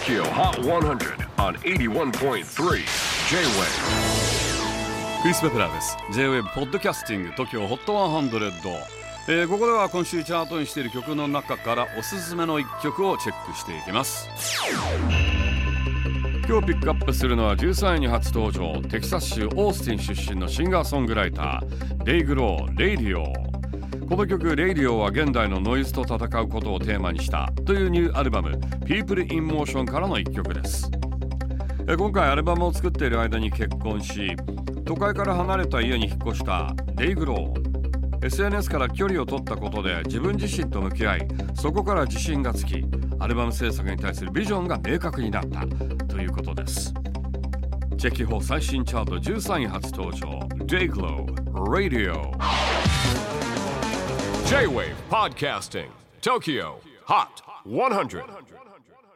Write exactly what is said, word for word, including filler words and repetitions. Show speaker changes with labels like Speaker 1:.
Speaker 1: Tokyo Hot one hundred on エイティワンポイントスリー J-Wave。
Speaker 2: クリス・ベプラーです。 J-Wave ポッドキャスティング Tokyo Hot ひゃく、えー、ここでは今週チャートにしている曲の中からおすすめのいっきょくをチェックしていきます。今日ピックアップするのはじゅうさんいに初登場、テキサス州オースティン出身のシンガーソングライターデイ・グロー、レイディオ。この曲レイディオは現代のノイズと戦うことをテーマにしたというニューアルバム People in Motion からのいっきょくです。今回アルバムを作っている間に結婚し、都会から離れた家に引っ越したデイ・グロー。 エスエヌエス から距離を取ったことで自分自身と向き合い、そこから自信がつき、アルバム制作に対するビジョンが明確になったということです。チェキホ最新チャートじゅうさんい初登場、デイ・グロー、Radio。
Speaker 1: J-Wave Podcasting Tokyo Hot ひゃく。